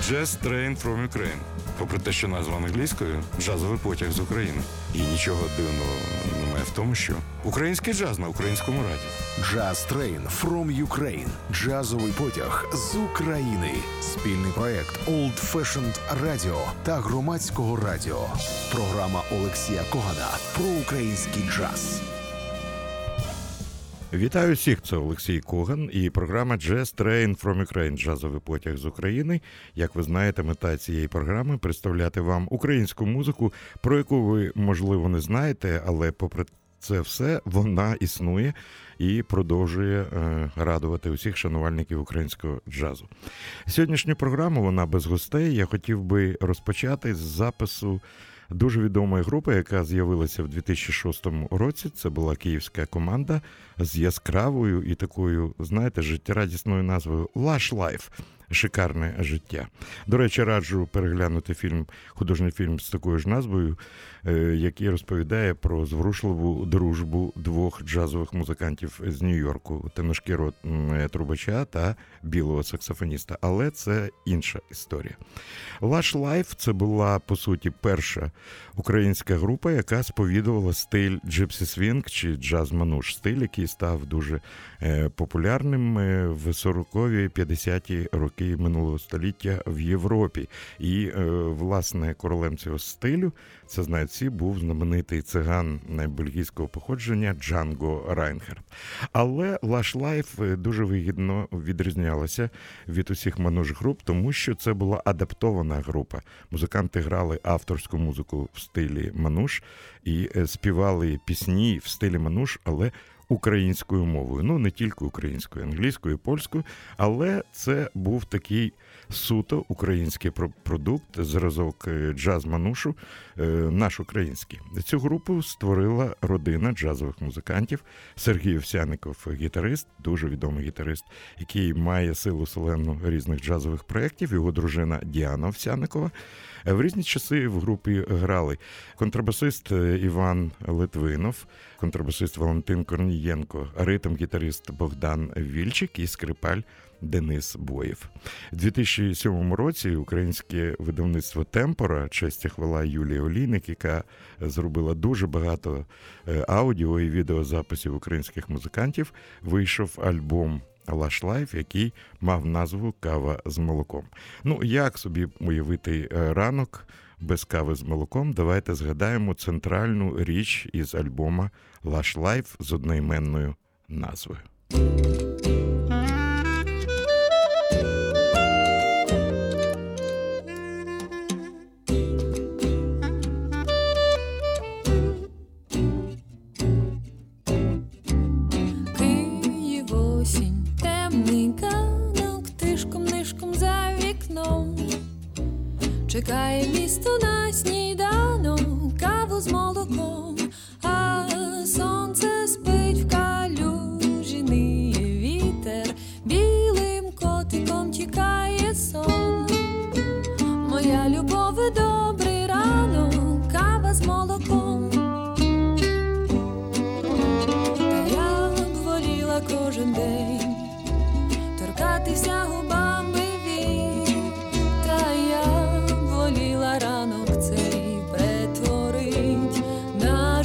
Jazz Train from Ukraine. Попри те, що назва англійською, джазовий потяг з України. І нічого дивного немає в тому, що український джаз на українському радіо. Jazz Train from Ukraine. Джазовий потяг з України. Спільний проект Old Fashioned Radio та Громадського радіо. Програма Олексія Когана про український джаз. Вітаю всіх, це Олексій Коган і програма Jazz Train from Ukraine, джазовий потяг з України. Як ви знаєте, мета цієї програми – представляти вам українську музику, про яку ви, можливо, не знаєте, але попри це все, вона існує і продовжує радувати усіх шанувальників українського джазу. Сьогоднішню програму, вона без гостей, я хотів би розпочати з запису дуже відомої групи, яка з'явилася в 2006 році. Це була київська команда з яскравою і такою, знаєте, життєрадісною назвою «Lush Life». Шикарне життя. До речі, раджу переглянути художній фільм з такою ж назвою, який розповідає про зворушливу дружбу двох джазових музикантів з Нью-Йорку, темношкірого трубача та білого саксофоніста. Але це інша історія. Lush Life – це була, по суті, перша українська група, яка сповідувала стиль джипсі свінг чи джаз-мануш. Стиль, який став дуже популярним в 40-ві, 50-ті роки минулого століття в Європі. І, власне, королем цього стилю, це знають всі, був знаменитий циган бельгійського походження Джанго Райнхард. Але Lush Life дуже вигідно відрізнялася від усіх мануш-груп, тому що це була адаптована група. Музиканти грали авторську музику в стилі мануш і співали пісні в стилі мануш, але українською мовою. Ну, не тільки українською, англійською, польською, але це був такий суто український продукт, зразок джаз-манушу, наш український. Цю групу створила родина джазових музикантів. Сергій Овсянников, гітарист, дуже відомий гітарист, який має силу селену різних джазових проєктів, його дружина Діана Овсянникова. В різні часи в групі грали контрабасист Іван Литвинов, контрабасист Валентин Корнієнко, ритм-гітарист Богдан Вільчик і скрипаль Денис Боєв. У 2007 році українське видавництво «Темпора», честь і хвала Юлії Олійник, яка зробила дуже багато аудіо і відеозаписів українських музикантів, вийшов альбом Lush Life, який мав назву «Кава з молоком». Ну, як собі уявити ранок без кави з молоком? Давайте згадаємо центральну річ із альбома Lush Life з одноіменною назвою. Чекає місто на сніданок, каву з молоком, а сонце спить в калюжі, ниє вітер, білим котиком тікає сон. Моя любове, добрий ранок, кава з молоком. Та я б воліла кожен день торкатися губами вік, та я воліла ранок цей перетворить на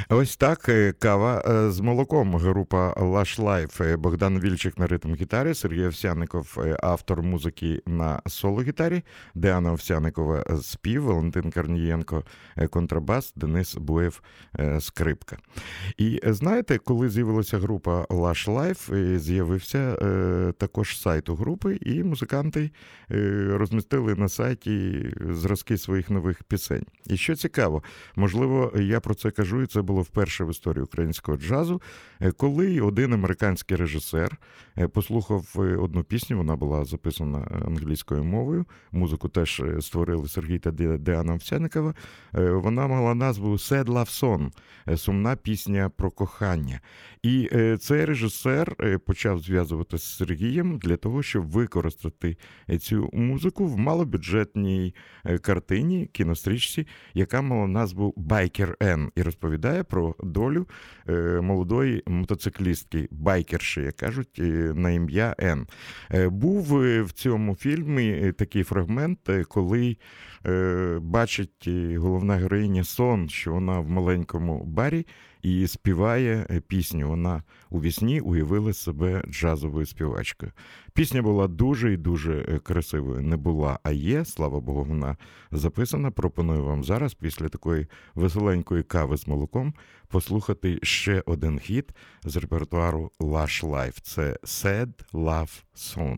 Ось так, кава з молоком. Група Lush Life. Богдан Вільчик на ритм-гітарі, Сергій Овсянников автор музики на соло-гітарі, Діана Овсянникова спів, Валентин Корнієнко контрабас, Денис Буєв скрипка. І знаєте, коли з'явилася група Lush Life, з'явився також сайт у групи, і музиканти розмістили на сайті зразки своїх нових пісень. І що цікаво, можливо, я про це кажу, і це було вперше в історії українського джазу, коли один американський режисер послухав одну пісню, вона була записана англійською мовою, музику теж створили Сергій та Діана Овсянникова, вона мала назву «Sad Love Song» – «Сумна пісня про кохання». І цей режисер почав зв'язуватися з Сергієм для того, щоб використати цю музику в малобюджетній картині, кінострічці, яка мала назву «Biker N» і розповідає про долю молодої мотоциклістки, байкерші, як кажуть, на ім'я Н. Був в цьому фільмі такий фрагмент, коли бачить головна героїня сон, що вона в маленькому барі і співає пісню. Вона у вісні уявила себе джазовою співачкою. Пісня була дуже і дуже красивою. Не була, а є. Слава Богу, вона записана. Пропоную вам зараз, після такої веселенької кави з молоком, послухати ще один хіт з репертуару Lush Life. Це «Sad Love Song».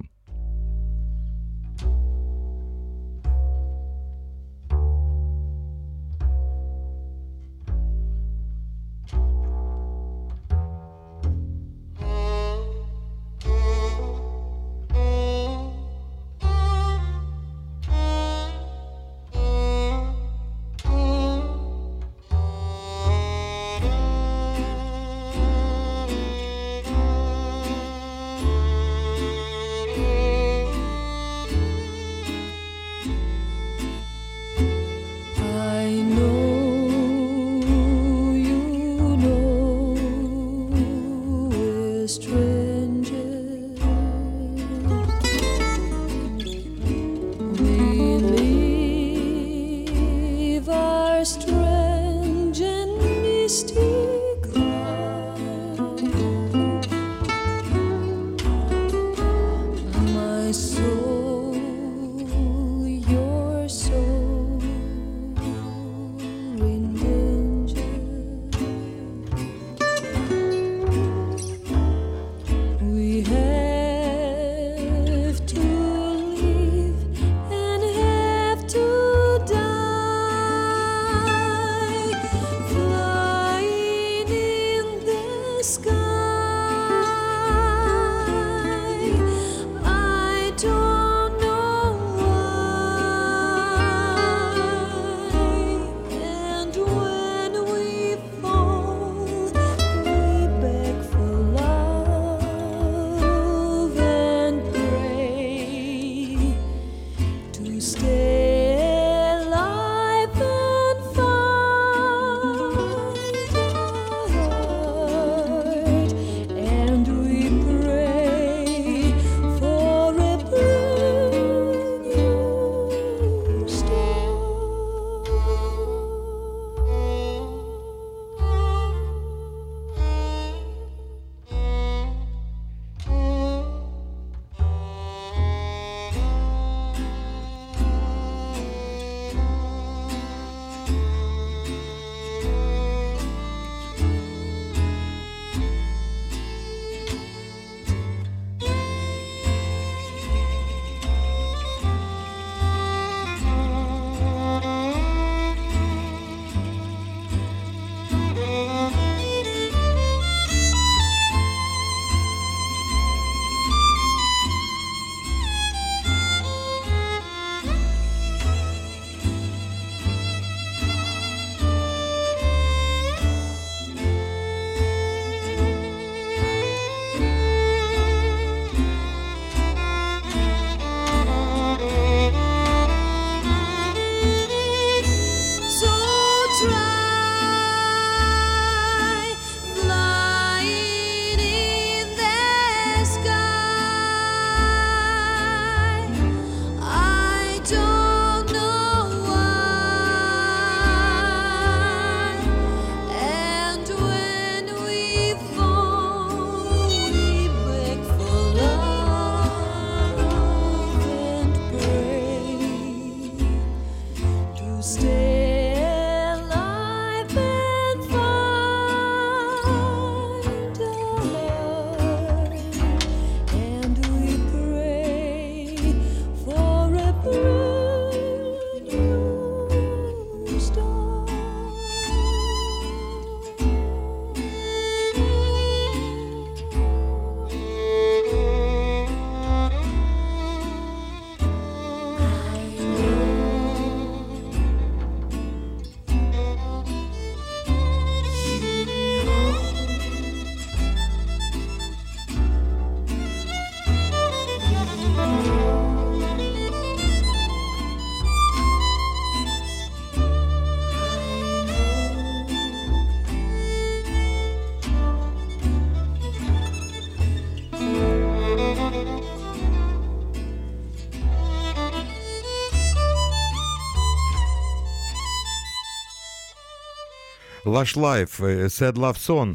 Lush Life, Sad Love Song,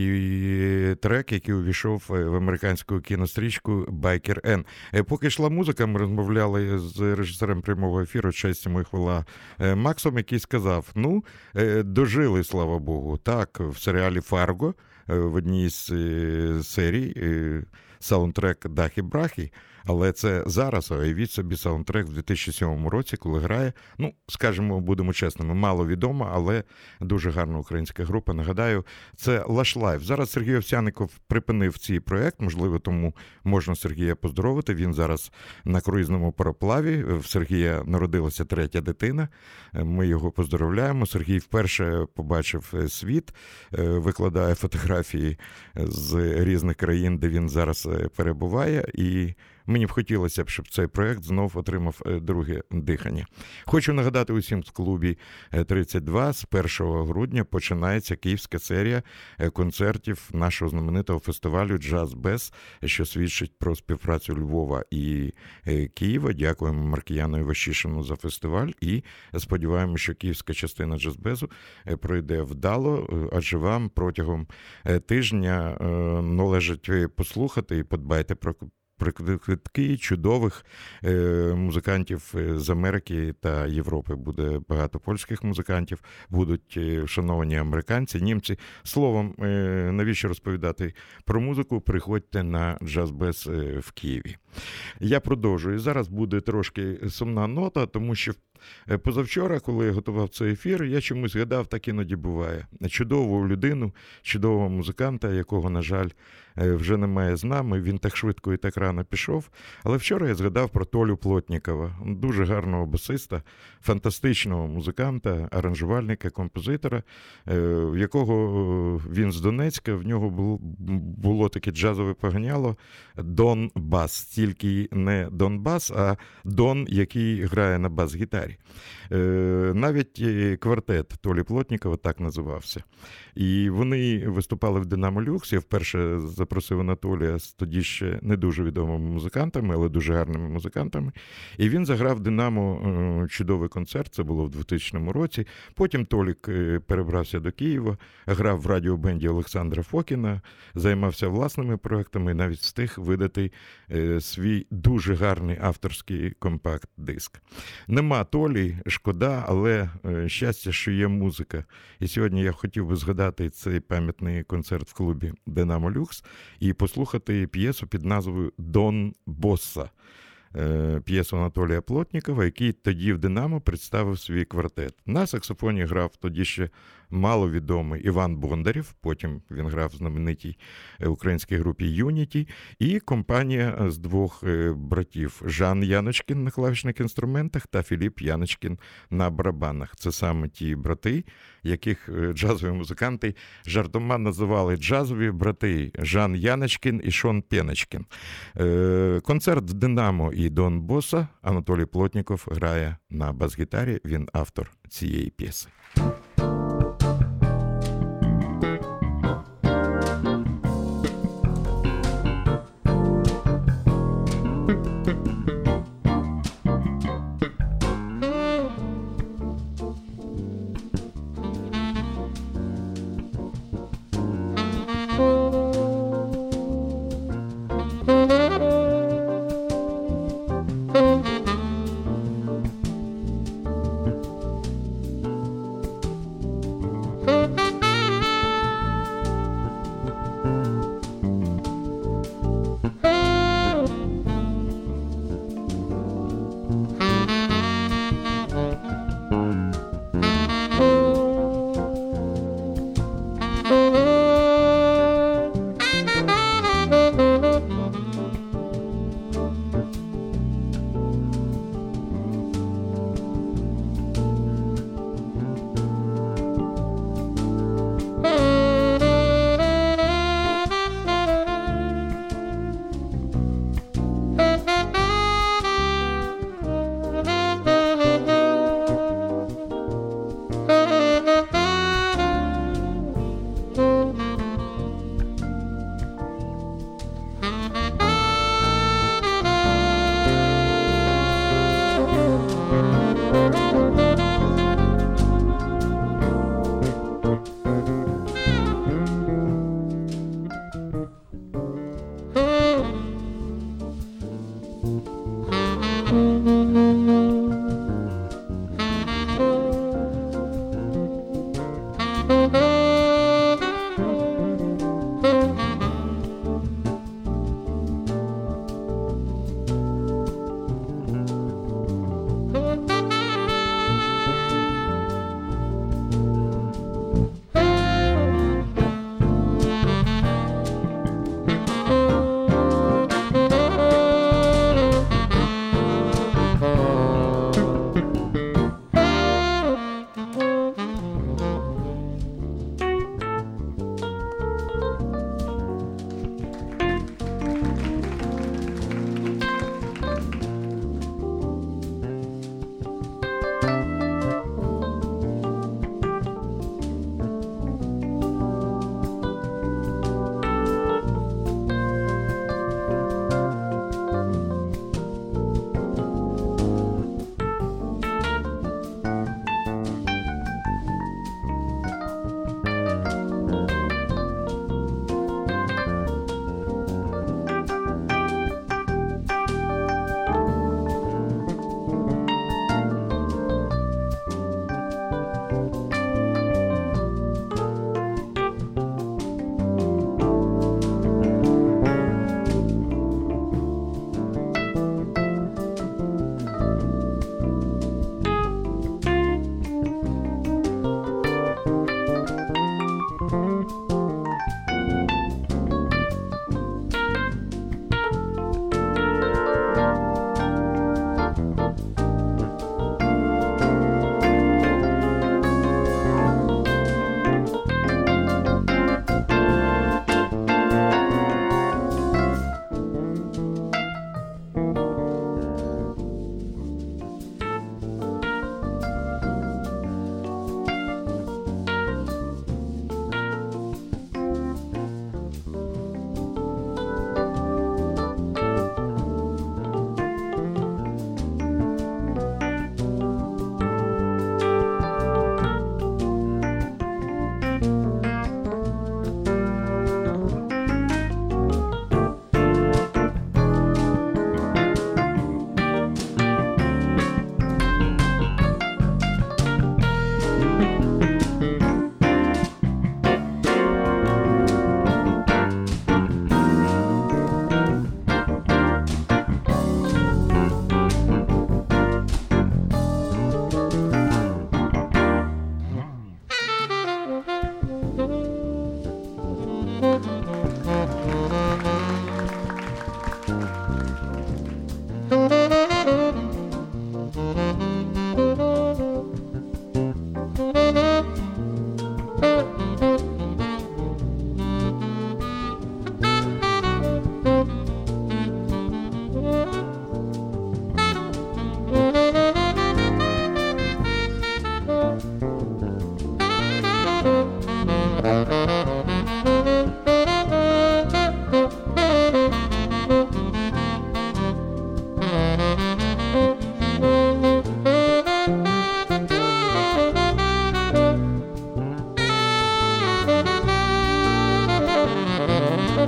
трек, який увійшов в американську кінострічку Biker N. Поки йшла музика, ми розмовляли з режисером прямого ефіру «Честь йому і хвала» Максом, який сказав, дожили, слава Богу. Так, в серіалі «Фарго» в одній з серій саундтрек «Дахі-брахі», але це зараз, уявіть собі, саундтрек в 2007 році, коли грає, скажімо, будемо чесними, мало відома, але дуже гарна українська група. Нагадаю, це Lush Life. Зараз Сергій Овсянников припинив цей проєкт, можливо, тому можна Сергія поздоровити. Він зараз на круїзному пароплаві. В Сергія народилася 3-я дитина. Ми його поздоровляємо. Сергій вперше побачив світ, викладає фотографії з різних країн, де він зараз перебуває, і мені б хотілося, щоб цей проєкт знов отримав друге дихання. Хочу нагадати усім в клубі 32, з 1 грудня починається київська серія концертів нашого знаменитого фестивалю «Джаз Без», що свідчить про співпрацю Львова і Києва. Дякуємо Маркіяну Іващишину за фестиваль і сподіваємося, що київська частина «Джаз Безу» пройде вдало, адже вам протягом тижня належить послухати і подбайте про квитки чудових музикантів з Америки та Європи. Буде багато польських музикантів, будуть шановані американці, німці. Словом, навіщо розповідати про музику? Приходьте на Джаз-Без в Києві. Я продовжую. Зараз буде трошки сумна нота, тому що позавчора, коли я готував цей ефір, я чомусь згадав, так іноді буває. Чудову людину, чудового музиканта, якого, на жаль, вже немає з нами, він так швидко і так рано пішов. Але вчора я згадав про Толю Плотнікова, дуже гарного басиста, фантастичного музиканта, аранжувальника, композитора, в якого він з Донецька, в нього було таке джазове поганяло Дон-бас, тільки не Донбас, а Дон, який грає на бас-гітарі. Навіть квартет Толі Плотнікова так називався. І вони виступали в «Динамо Люкс». Я вперше запросив Анатолія з тоді ще не дуже відомими музикантами, але дуже гарними музикантами. І він заграв «Динамо» чудовий концерт, це було в 2000 році. Потім Толік перебрався до Києва, грав в радіобенді Олександра Фокіна, займався власними проектами і навіть встиг видати свій дуже гарний авторський компакт-диск. Нема Толі, шкода, але щастя, що є музика. І сьогодні я хотів би згадати цей пам'ятний концерт в клубі «Динамо Люкс» і послухати п'єсу під назвою «Дон Босса». П'єсу Анатолія Плотнікова, який тоді в «Динамо» представив свій квартет. На саксофоні грав тоді ще маловідомий Іван Бондарів, потім він грав в знаменитій українській групі «Юніті», і компанія з двох братів – Жан Яночкін на клавішних інструментах та Філіп Яночкін на барабанах. Це саме ті брати, яких джазові музиканти жартома називали джазові брати Жан Яночкін і Шон Пеночкін. Концерт в «Динамо» і Дон Босса Анатолій Плотніков грає на бас-гітарі, він автор цієї п'єси.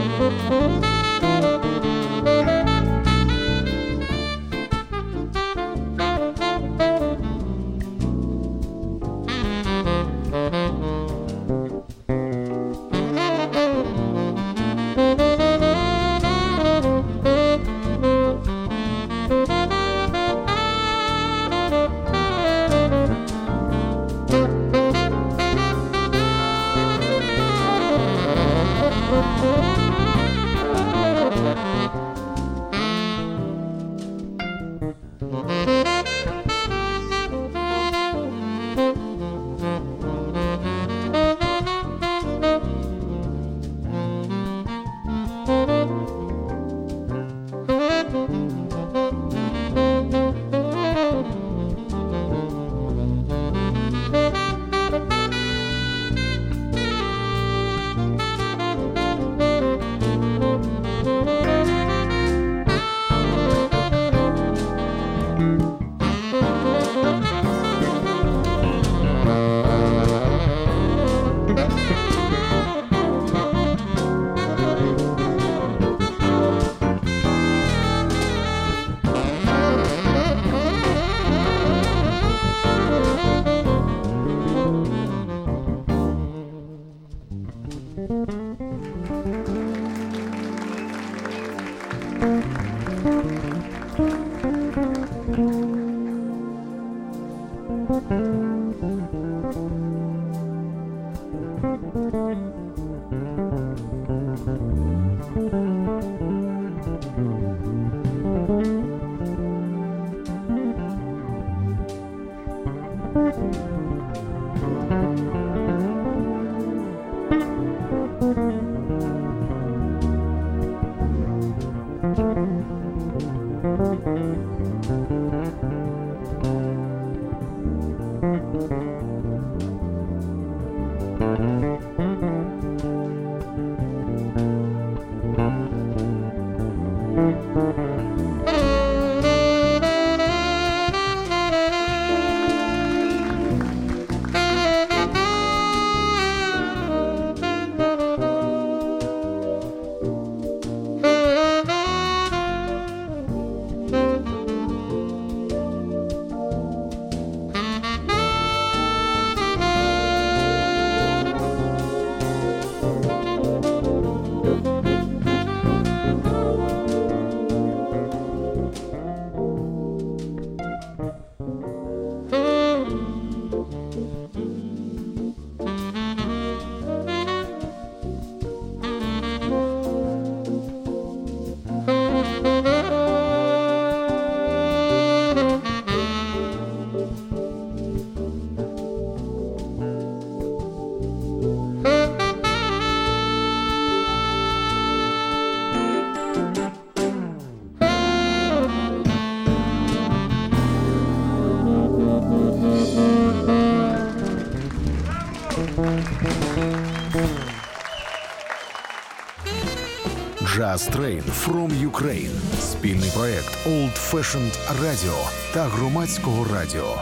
Jazz Train from Ukraine – спільний проект Old Fashioned Radio та Громадського радіо.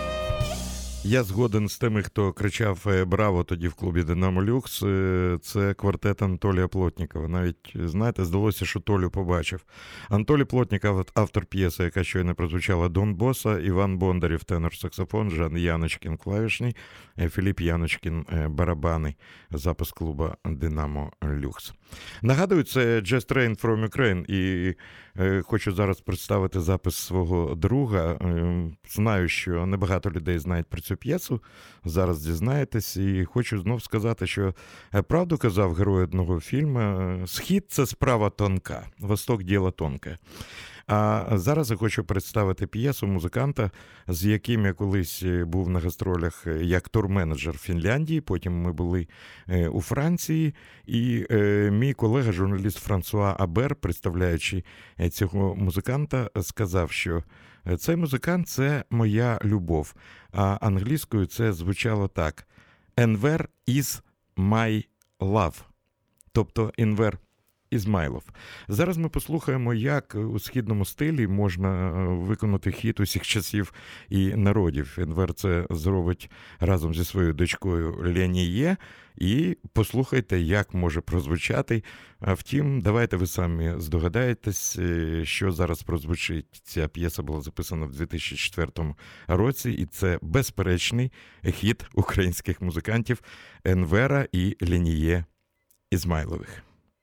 Я згоден з тими, хто кричав «Браво» тоді в клубі «Динамо Люкс». Це квартет Анатолія Плотнікова. Навіть, знаєте, здалося, що Толю побачив. Анатолій Плотніков – автор п'єси, яка щойно прозвучала, «Дон Боса», Іван Бондарів – тенор-саксофон, Жан Яночкін – клавішний, Філіп Яночкін – барабани. Запис клуба «Динамо Люкс». Нагадую, це Jazz Train from Ukraine, і хочу зараз представити запис свого друга. Знаю, що небагато людей знають про цю п'єсу, зараз дізнаєтесь, і хочу знов сказати, що правду казав герой одного фільму: «Схід – це справа тонка, Восток – діло тонке». А зараз я хочу представити п'єсу музиканта, з яким я колись був на гастролях як турменеджер в Фінляндії, потім ми були у Франції, і мій колега, журналіст Франсуа Абер, представляючи цього музиканта, сказав, що цей музикант – це моя любов, а англійською це звучало так: «Enver is my love». Тобто Enver Ізмайлов. Зараз ми послухаємо, як у східному стилі можна виконати хіт усіх часів і народів. Енвер це зробить разом зі своєю дочкою Леніє. І послухайте, як може прозвучати. А втім, давайте ви самі здогадаєтесь, що зараз прозвучить. Ця п'єса була записана в 2004 році, і це безперечний хіт українських музикантів Енвера і Леніє Ізмайлових.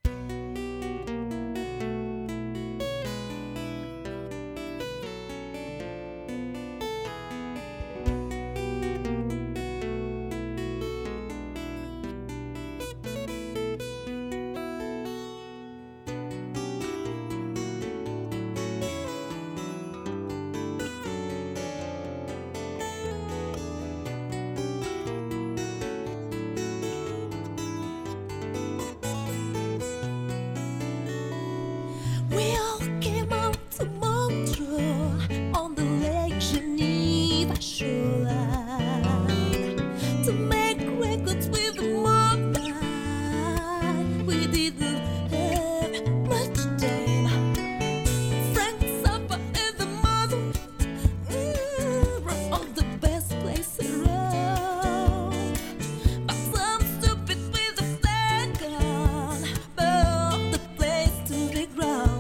We all came out to Montreux on the Lake Geneva shoreline to make records with the moonlight. We didn't have much time. Frank Zappa and the mother were all the best place around. But some stupid with a flag gun burned the place to the ground.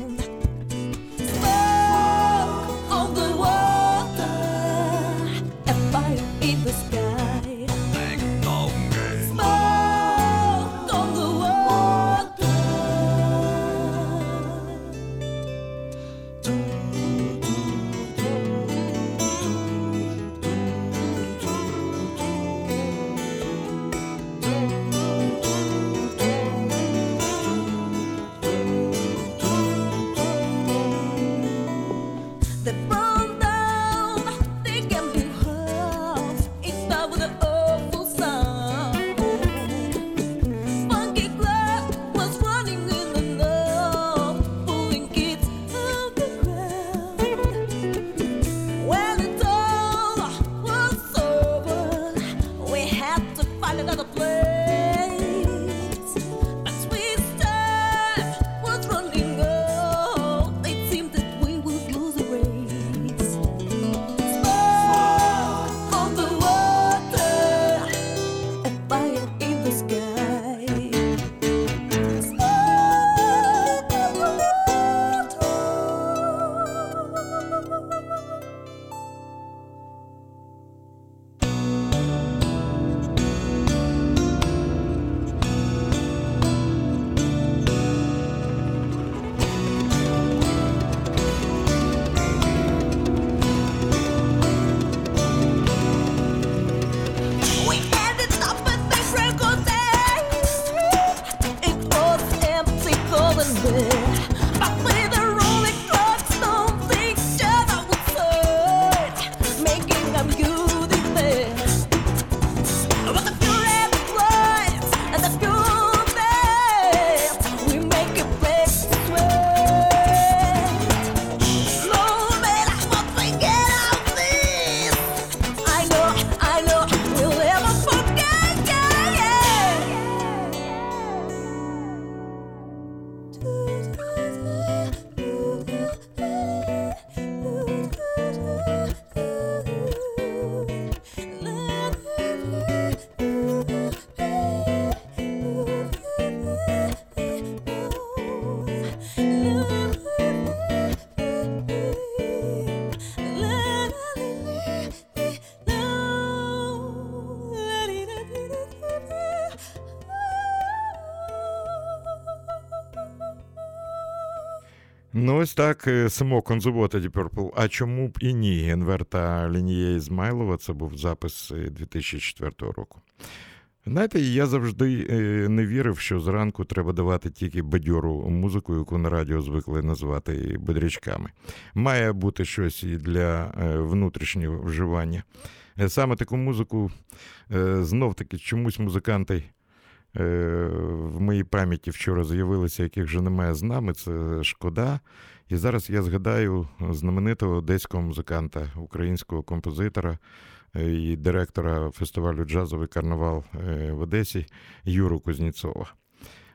Smoke on the water, a fire in the sky. Smoke on the water. They burned down the gambling halls. It started with an awful sound. Funky blood was running in the north, pulling kids out the ground. When it all was over, we had to find another place. But Swiss time was running out. It seemed that we would lose the race. Smoke on the water, a fire in the sky. Smoke on the water. We ended up at the record days. It was empty, cold and bare. But with the rolling clocks, don't think that I would search, making a beauty there. But the few red lights and the few bells, we make a place to sweat. No matter what we get out this, I know, we'll never forget, Ну, ось так, Smoke on the Water, Deep Purple. А чому б і ні? Енвер та Леніє Ізмайлова, це був запис 2004 року. Знаєте, я завжди не вірив, що зранку треба давати тільки бадьору музику, яку на радіо звикли називати бодрячками. Має бути щось і для внутрішнього вживання. Саме таку музику, знов-таки, чомусь музиканти в моїй пам'яті вчора з'явилися, яких вже немає з нами, це шкода. І зараз я згадаю знаменитого одеського музиканта, українського композитора і директора фестивалю «Джазовий карнавал» в Одесі Юру Кузнєцова.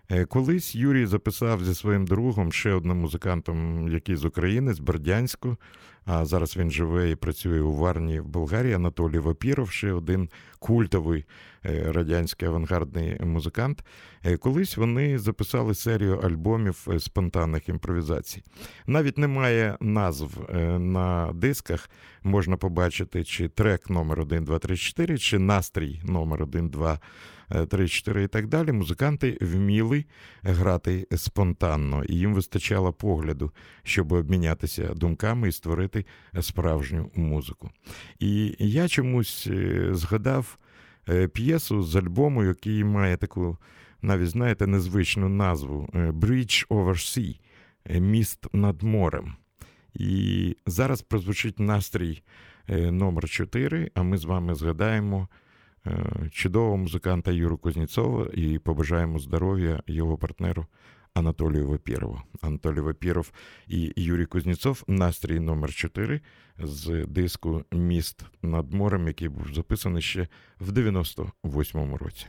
Колись Юрій записав зі своїм другом, ще одним музикантом, який з України, з Бердянську, а зараз він живе і працює у Варні в Болгарії, Анатолій Вапіров, ще один культовий радянський авангардний музикант. Колись вони записали серію альбомів спонтанних імпровізацій. Навіть немає назв на дисках, можна побачити, чи трек номер 1, 2, 3, 4, чи настрій номер 1, 2, 3, 4 і так далі. Музиканти вміли грати спонтанно, і їм вистачало погляду, щоб обмінятися думками і створити справжню музику. І я чомусь згадав п'єсу з альбому, який має таку, навіть, знаєте, незвичну назву «Bridge over Sea» – «Міст над морем». І зараз прозвучить настрій номер 4, а ми з вами згадаємо чудового музиканта Юру Кузнєцова і побажаємо здоров'я його партнеру Анатолію Вапірову. Анатолій Вапіров і Юрій Кузнєцов, настрій номер 4 з диску «Міст над морем», який був записаний ще в 98-му році.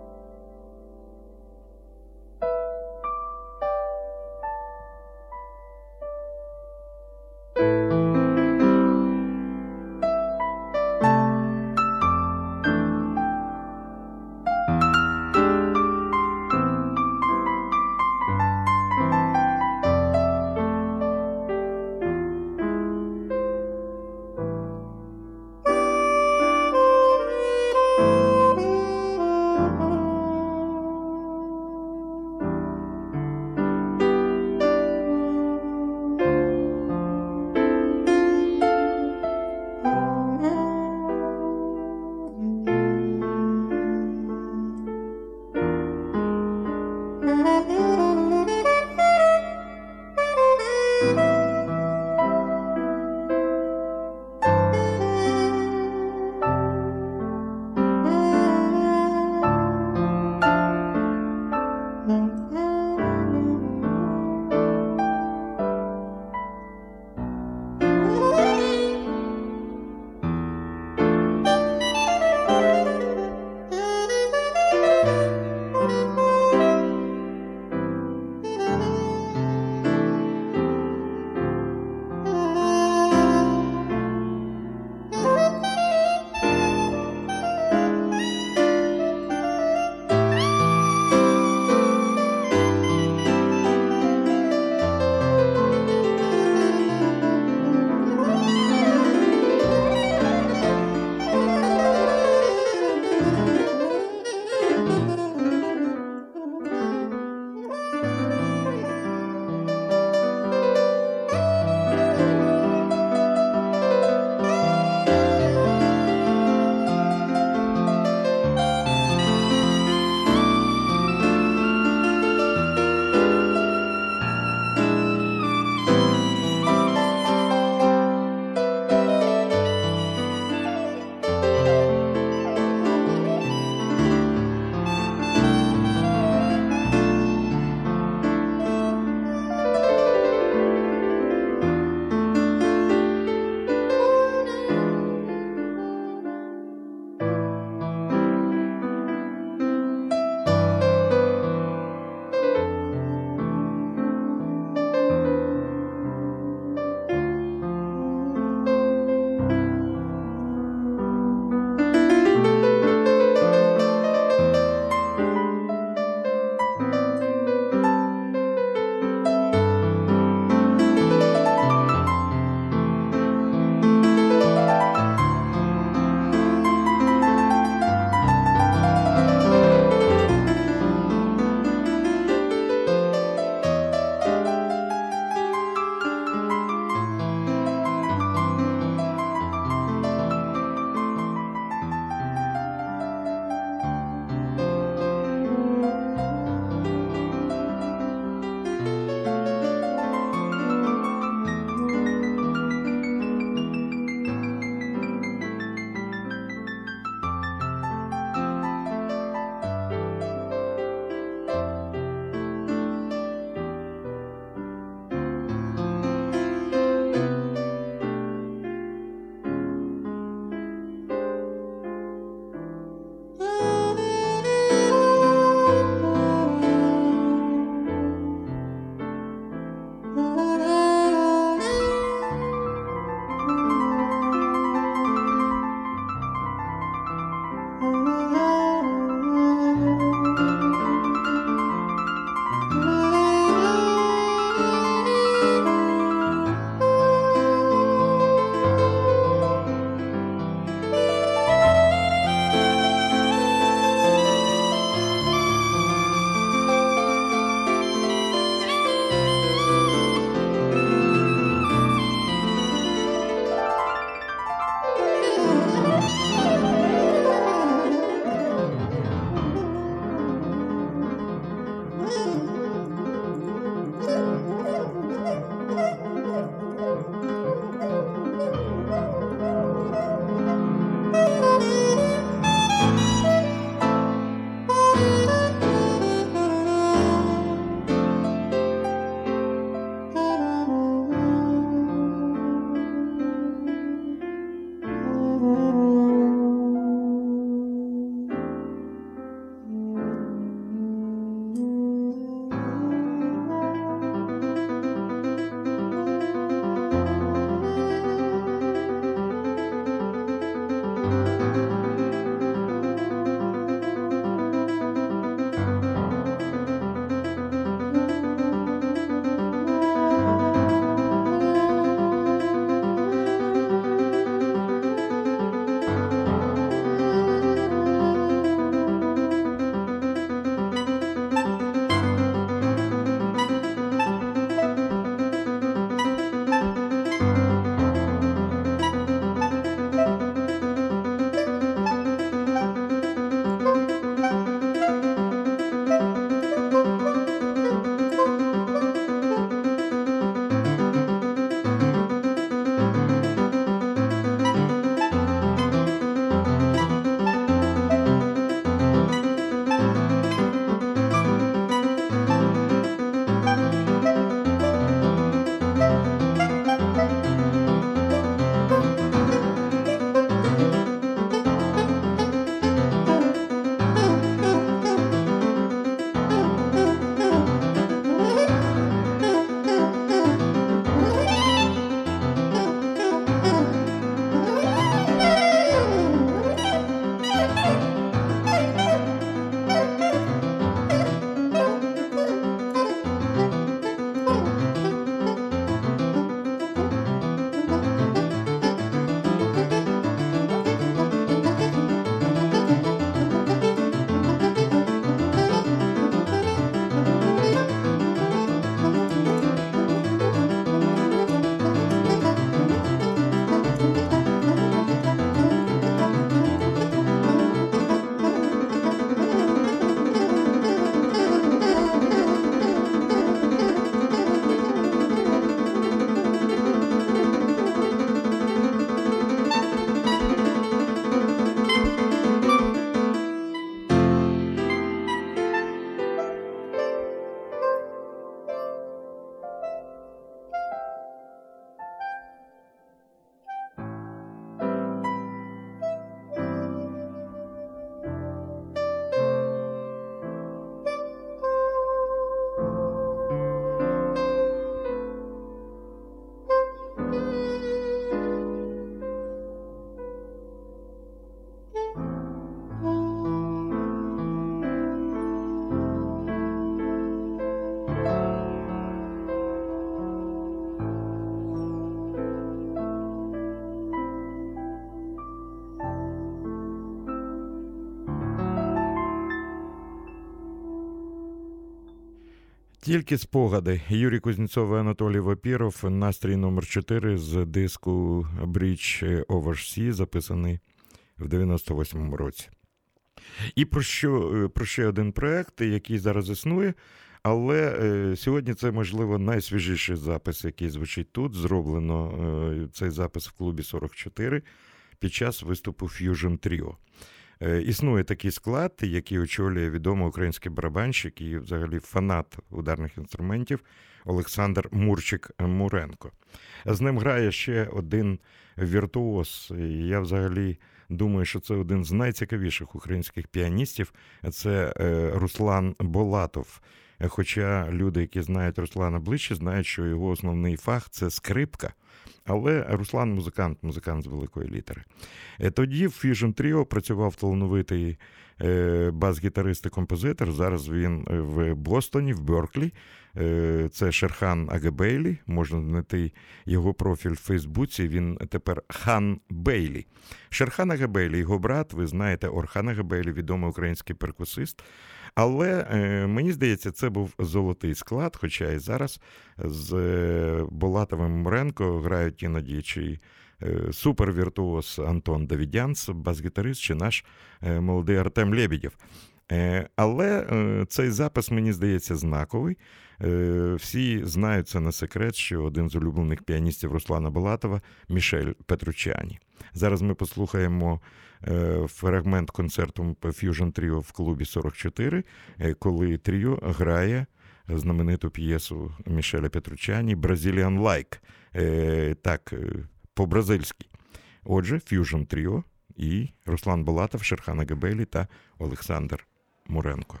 Тільки спогади. Юрій Кузнєцов і Анатолій Вапіров. Настрій номер 4 з диску Bridge Over Sea, записаний в 98-му році. І про ще один проєкт, який зараз існує, але сьогодні це, можливо, найсвіжіший запис, який звучить тут. Зроблено цей запис в клубі 44 під час виступу Fusion Trio. Існує такий склад, який очолює відомий український барабанщик і взагалі фанат ударних інструментів Олександр Мурчик-Муренко. З ним грає ще один віртуоз. Я взагалі думаю, що це один з найцікавіших українських піаністів. Це Руслан Болатов. Хоча люди, які знають Руслана ближче, знають, що його основний фах – це скрипка. Але Руслан музикант з великої літери. Тоді в Fusion Trio працював талановитий бас-гітарист і композитор. Зараз він в Бостоні, в Берклі. Це Шерхан Агебейлі. Можна знайти його профіль в Фейсбуці. Він тепер Хан Бейлі. Шерхан Агебейлі, його брат, ви знаєте, Орхан Агебейлі, відомий український перкусист. Але, мені здається, це був золотий склад, хоча і зараз з Болатовим Муренко грають іноді чи супервіртуоз Антон Давідянц, бас-гітарист, чи наш молодий Артем Лебедєв. Але цей запис, мені здається, знаковий. Всі знають, це не секрет, що один з улюблених піаністів Руслана Болатова – Мішель Петручані. Зараз ми послухаємо фрагмент концерту Fusion Trio в клубі 44, коли тріо грає знамениту п'єсу Мішеля Петручані «Brazilian Like», так, по-бразильськи. Отже, Fusion Trio і Руслан Болатов, Шерхан Агебейлі та Олександр Муренко.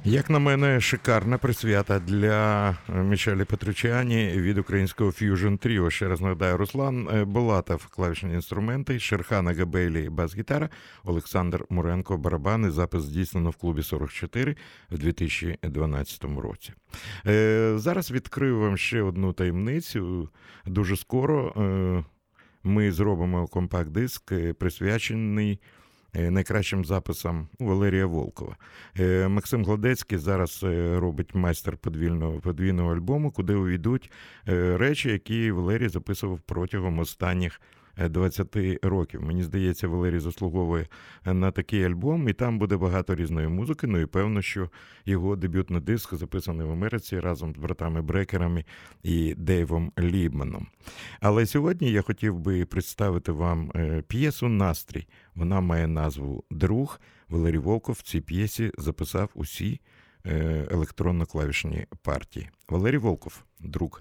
Як на мене, шикарна присвята для Мішелі Петручані від українського Fusion Trio. Ще раз нагадаю, Руслан Булатов – клавішні інструменти, Шерхан Агабейлі – бас-гітара, Олександр Муренко – барабани. Запис здійснено в клубі 44 в 2012 році. Зараз відкрию вам ще одну таємницю. Дуже скоро ми зробимо компакт-диск, присвячений найкращим записам Валерія Волкова. Максим Гладецький зараз робить майстер подвійного альбому, куди увійдуть речі, які Валерій записував протягом останніх 20 років. Мені здається, Валерій заслуговує на такий альбом, і там буде багато різної музики, ну і певно, що його дебютний диск записаний в Америці разом з братами Брекерами і Дейвом Лібманом. Але сьогодні я хотів би представити вам п'єсу «Настрій». Вона має назву «Друг». Валерій Волков в цій п'єсі записав усі електронно-клавішні партії. Валерій Волков «Друг».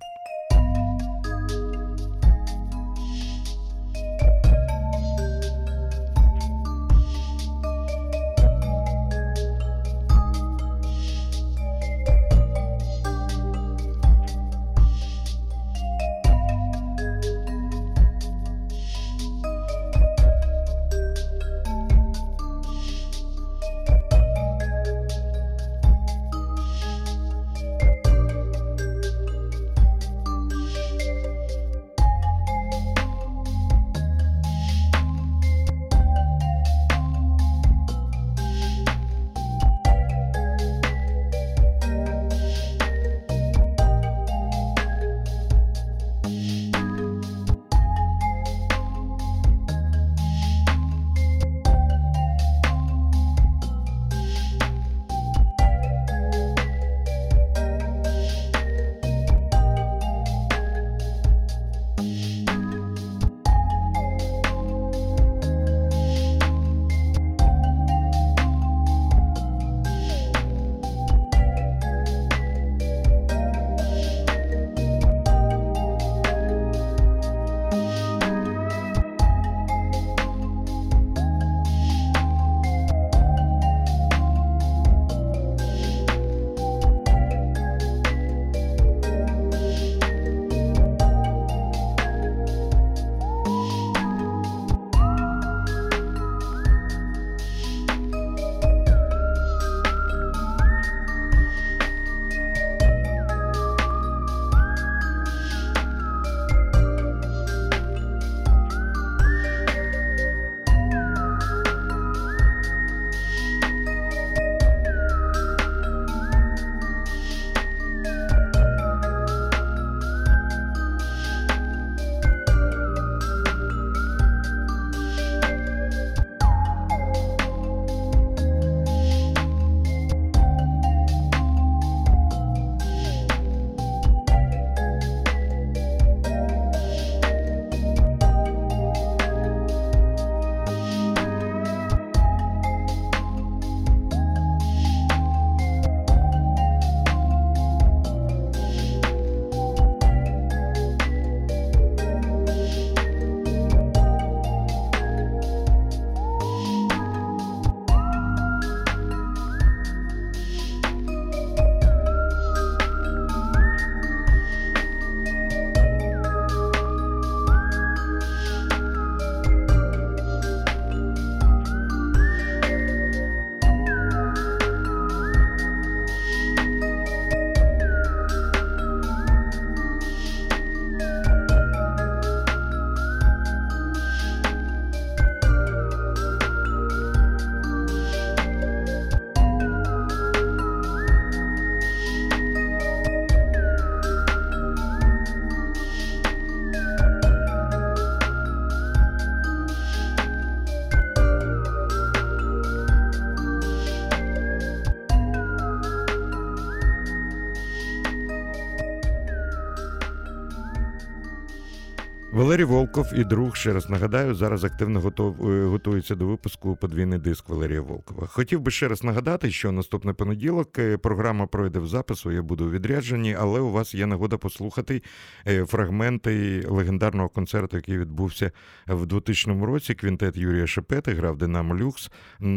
Валерій Волков і друг, ще раз нагадаю, зараз активно готується до випуску подвійний диск Валерія Волкова. Хотів би ще раз нагадати, що наступний понеділок програма пройде в запису, я буду у відрядженні, але у вас є нагода послухати фрагменти легендарного концерту, який відбувся в 2000 році. Квінтет Юрія Шепети грав «Динамо Люкс»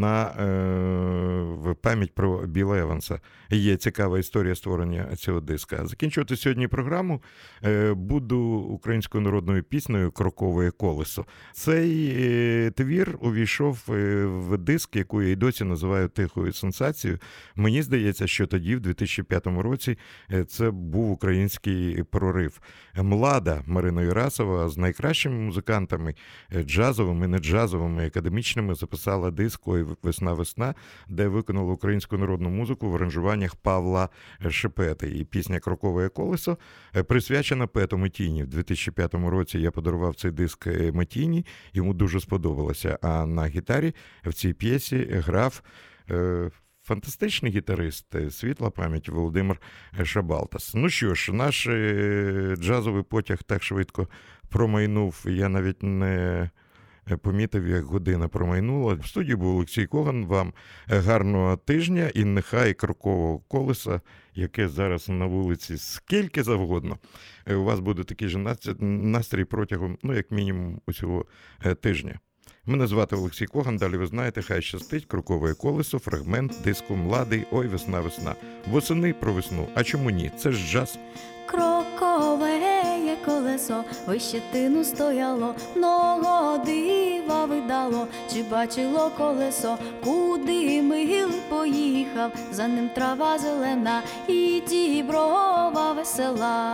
в пам'ять про Біла Еванса. Є цікава історія створення цього диска. Закінчувати сьогодні програму буду українською народною піснею «Крокове колесо». Цей твір увійшов в диск, яку я й досі називаю тихою сенсацією. Мені здається, що тоді, в 2005 році, це був український прорив. Млада Марина Юрасова з найкращими музикантами, джазовими, не джазовими, академічними, записала диск «Ой, весна-весна», де виконала українську народну музику в аранжуваннях Павла Шепети. І пісня «Крокове колесо» присвячена поету Метіні. В 2005 році я подарував цей диск Метіні, йому дуже сподобалося. А на гітарі в цій п'єсі грав фантастичний гітарист, світла пам'ять, Володимир Шабалтас. Ну що ж, наш джазовий потяг так швидко промайнув, я навіть не помітив, як година промайнула. В студії був Олексій Коган. Вам гарного тижня і нехай крокового колеса, яке зараз на вулиці скільки завгодно, у вас буде такий же настрій протягом, як мінімум, усього тижня. Мене звати Олексій Коган, далі ви знаєте, хай щастить, крокове колесо, фрагмент диску «Младий, ой, весна-весна». Восени про весну, а чому ні? Це ж джаз. Крокове є колесо, вище тину стояло, много дива видало. Чи бачило колесо, куди мил поїхав? За ним трава зелена і діброва весела.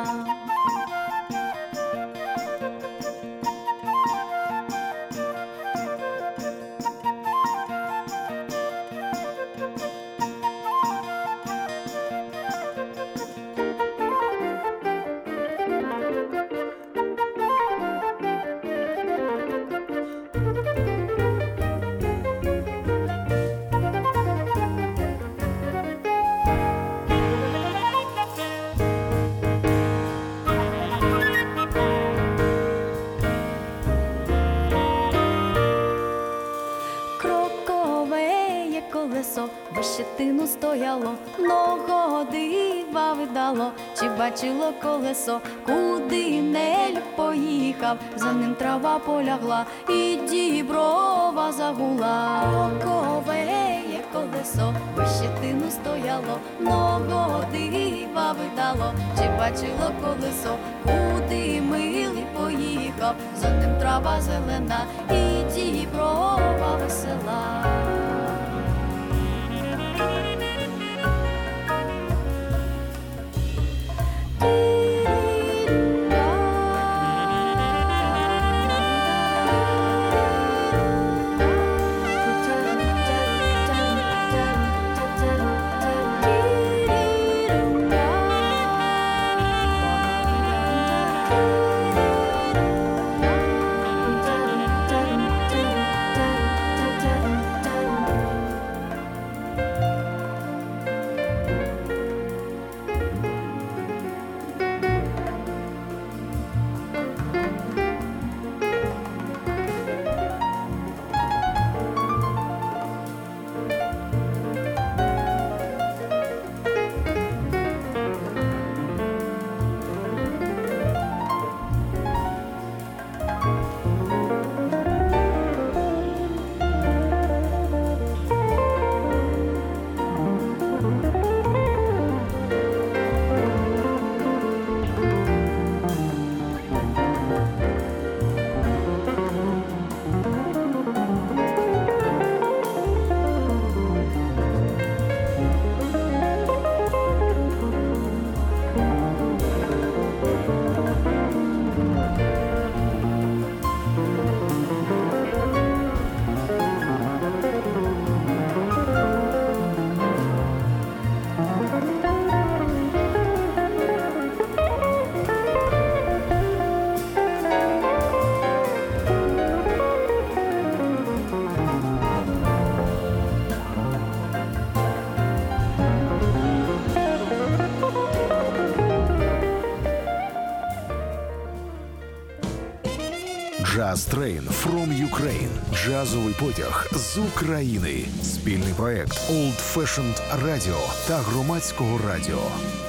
Вище тину стояло, много дива видало. Чи бачило колесо, куди нель поїхав? За ним трава полягла і діброва загула. Крокове є колесо, вище тину стояло, много дива видало. Чи бачило колесо, куди милий поїхав? За ним трава зелена і діброва весела. Jazz Train from Ukraine. Джазовий потяг з України. Спільний проект Old Fashioned Radio та Громадського радіо.